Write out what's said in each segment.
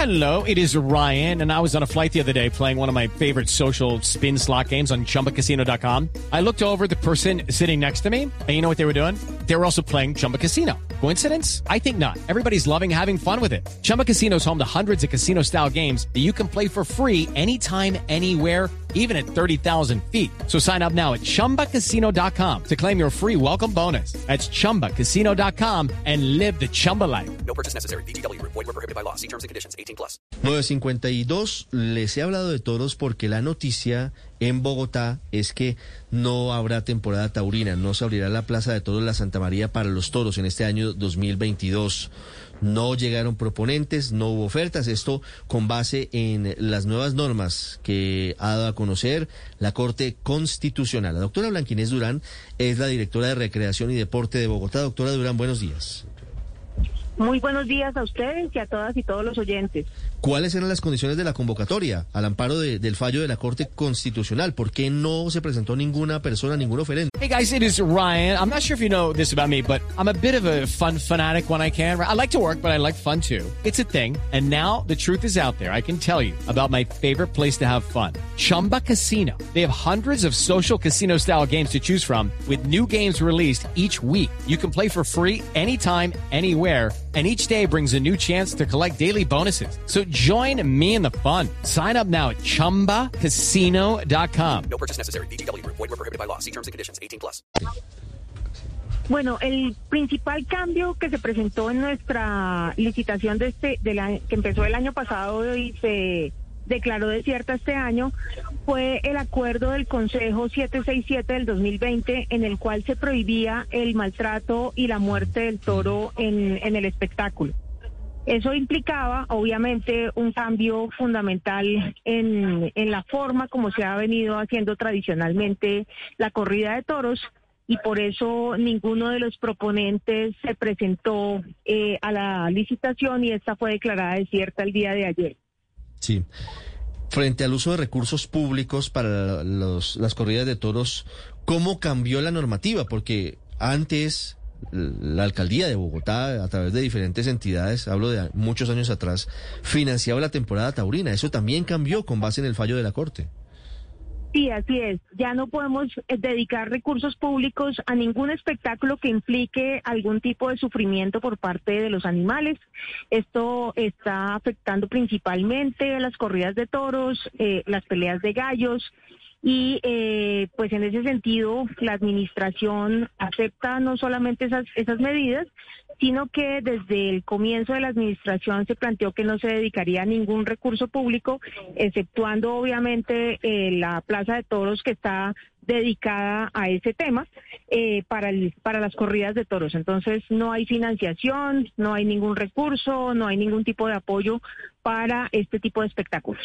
Hello, it is Ryan, and I was on a flight the other day playing one of my favorite social spin slot games on ChumbaCasino.com. I looked over at the person sitting next to me, and you know what they were doing? They were also playing Chumba Casino. Coincidence? I think not. Everybody's loving having fun with it. Chumba Casino is home to hundreds of casino-style games that you can play for free anytime, anywhere, even at 30,000 feet. So sign up now at ChumbaCasino.com to claim your free welcome bonus. That's ChumbaCasino.com and live the Chumba life. No purchase necessary. VGW. Void were prohibited by law. See terms and conditions. 18+. 9:52, les he hablado de toros porque la noticia en Bogotá es que no habrá temporada taurina, no se abrirá la Plaza de Toros La Santa María para los toros en este año 2022. No llegaron proponentes, no hubo ofertas, esto con base en las nuevas normas que ha dado a conocer la Corte Constitucional. La doctora Blanquinés Durán es la directora de Recreación y Deporte de Bogotá. Doctora Durán, buenos días. Muy buenos días a ustedes y a todas y todos los oyentes. ¿Cuáles eran las condiciones de la convocatoria al amparo del fallo de la Corte Constitucional? ¿Por qué no se presentó ninguna persona, ningún oferente? Hey guys, it is Ryan. I'm not sure if you know this about me, but I'm a bit of a fun fanatic when I can. I like to work, but I like fun too. It's a thing. And now the truth is out there. I can tell you about my favorite place to have fun. Chumba Casino. They have hundreds of social casino style games to choose from with new games released each week. You can play for free anytime, anywhere. And each day brings a new chance to collect daily bonuses. So join me in the fun. Sign up now at ChumbaCasino.com. No purchase necessary. VGW. Void were prohibited by law. See terms and conditions. 18+. Bueno, el principal cambio que se presentó en nuestra licitación que empezó el año pasado y se declaró desierta este año fue el acuerdo del Consejo 767 del 2020 en el cual se prohibía el maltrato y la muerte del toro en el espectáculo. Eso implicaba, obviamente, un cambio fundamental en la forma como se ha venido haciendo tradicionalmente la corrida de toros, y por eso ninguno de los proponentes se presentó a la licitación y esta fue declarada desierta el día de ayer. Sí. Frente al uso de recursos públicos para las corridas de toros, ¿cómo cambió la normativa? Porque antes la alcaldía de Bogotá, a través de diferentes entidades, hablo de muchos años atrás, financiaba la temporada taurina. Eso también cambió con base en el fallo de la Corte. Sí, así es. Ya no podemos dedicar recursos públicos a ningún espectáculo que implique algún tipo de sufrimiento por parte de los animales. Esto está afectando principalmente las corridas de toros, las peleas de gallos. Y pues en ese sentido la administración acepta no solamente esas medidas, sino que desde el comienzo de la administración se planteó que no se dedicaría a ningún recurso público, exceptuando obviamente la Plaza de Toros que está dedicada a ese tema para las corridas de toros. Entonces no hay financiación, no hay ningún recurso, no hay ningún tipo de apoyo para este tipo de espectáculos.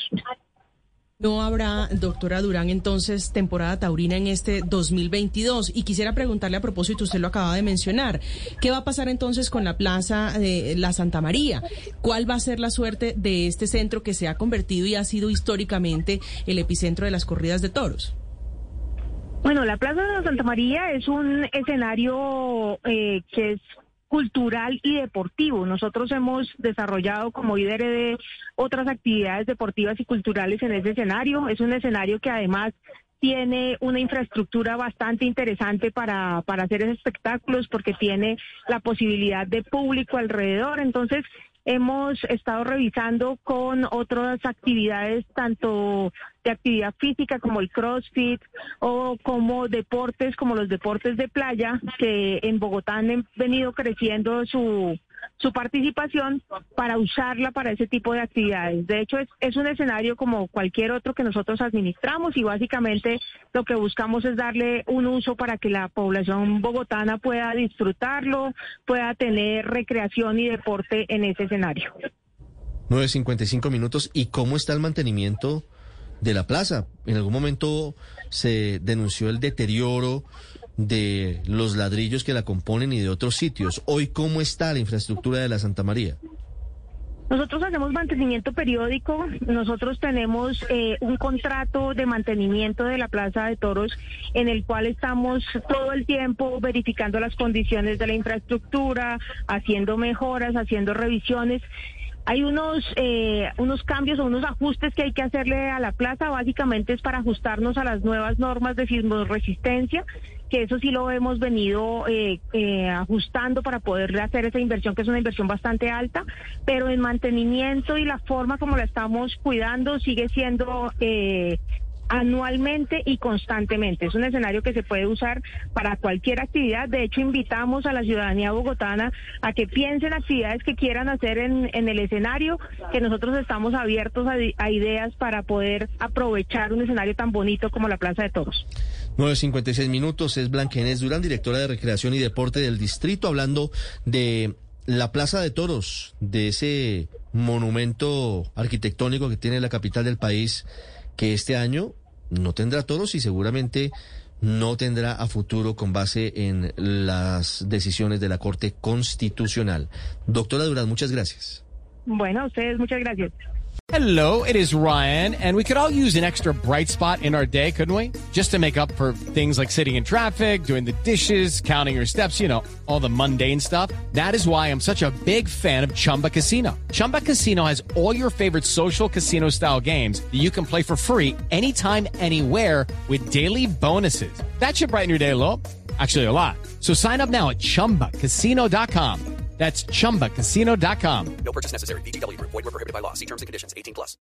No habrá, doctora Durán, entonces, temporada taurina en este 2022. Y quisiera preguntarle a propósito, usted lo acaba de mencionar, ¿qué va a pasar entonces con la Plaza de la Santa María? ¿Cuál va a ser la suerte de este centro que se ha convertido y ha sido históricamente el epicentro de las corridas de toros? Bueno, la Plaza de la Santa María es un escenario que es cultural y deportivo. Nosotros hemos desarrollado como líderes de otras actividades deportivas y culturales en ese escenario. Es un escenario que además tiene una infraestructura bastante interesante para hacer esos espectáculos porque tiene la posibilidad de público alrededor. Entonces, hemos estado revisando con otras actividades, tanto de actividad física como el CrossFit o como deportes, como los deportes de playa, que en Bogotá han venido creciendo su participación para usarla para ese tipo de actividades. De hecho, es un escenario como cualquier otro que nosotros administramos y básicamente lo que buscamos es darle un uso para que la población bogotana pueda disfrutarlo, pueda tener recreación y deporte en ese escenario. 9:55. ¿Y cómo está el mantenimiento de la plaza? En algún momento se denunció el deterioro de los ladrillos que la componen y de otros sitios. Hoy, ¿cómo está la infraestructura de la Santa María? Nosotros hacemos mantenimiento periódico. Nosotros tenemos un contrato de mantenimiento de la Plaza de Toros en el cual estamos todo el tiempo verificando las condiciones de la infraestructura, haciendo mejoras, haciendo revisiones. Hay unos cambios o unos ajustes que hay que hacerle a la plaza, básicamente es para ajustarnos a las nuevas normas de sismoresistencia, que eso sí lo hemos venido ajustando para poder hacer esa inversión, que es una inversión bastante alta, pero en mantenimiento y la forma como la estamos cuidando sigue siendo anualmente y constantemente. Es un escenario que se puede usar para cualquier actividad. De hecho, invitamos a la ciudadanía bogotana a que piensen actividades que quieran hacer en el escenario, que nosotros estamos abiertos a ideas para poder aprovechar un escenario tan bonito como la Plaza de Toros. 9:56 minutos, es Blanca Inés Durán, directora de Recreación y Deporte del Distrito, hablando de la Plaza de Toros, de ese monumento arquitectónico que tiene la capital del país, que este año no tendrá toros y seguramente no tendrá a futuro con base en las decisiones de la Corte Constitucional. Doctora Durán, muchas gracias. Bueno, a ustedes muchas gracias. Hello, it is Ryan, and we could all use an extra bright spot in our day, couldn't we? Just to make up for things like sitting in traffic, doing the dishes, counting your steps, you know, all the mundane stuff. That is why I'm such a big fan of Chumba Casino. Chumba Casino has all your favorite social casino-style games that you can play for free anytime, anywhere with daily bonuses. That should brighten your day a little. Actually, a lot. So sign up now at ChumbaCasino.com. That's ChumbaCasino.com. No purchase necessary. VGW Group. Void where prohibited by law. See terms and conditions. 18+.